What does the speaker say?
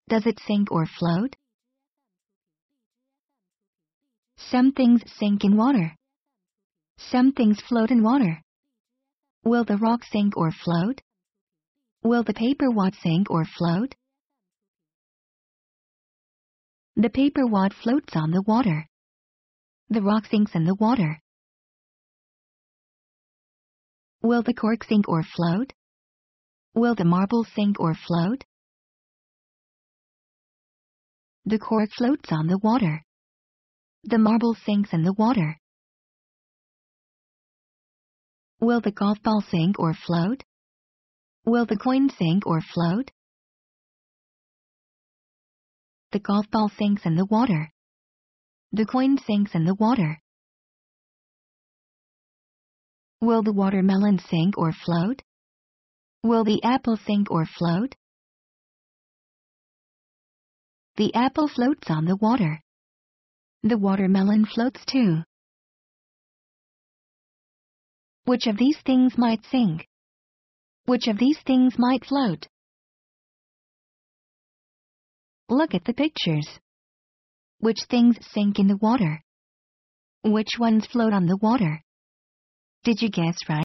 Does it sink or float? Some things sink in water. Some things float in water. Will the rock sink or float? Will the paper wad sink or float? The paper wad floats on the water. The rock sinks in the water. Will the cork sink or float? Will the marble sink or float? The cork floats on the water. The marble sinks in the water. Will the golf ball sink or float? Will the coin sink or float? The golf ball sinks in the water. The coin sinks in the water. Will the watermelon sink or float? Will the apple sink or float? The apple floats on the water. The watermelon floats too. Which of these things might sink? Which of these things might float? Look at the pictures. Which things sink in the water? Which ones float on the water? Did you guess right?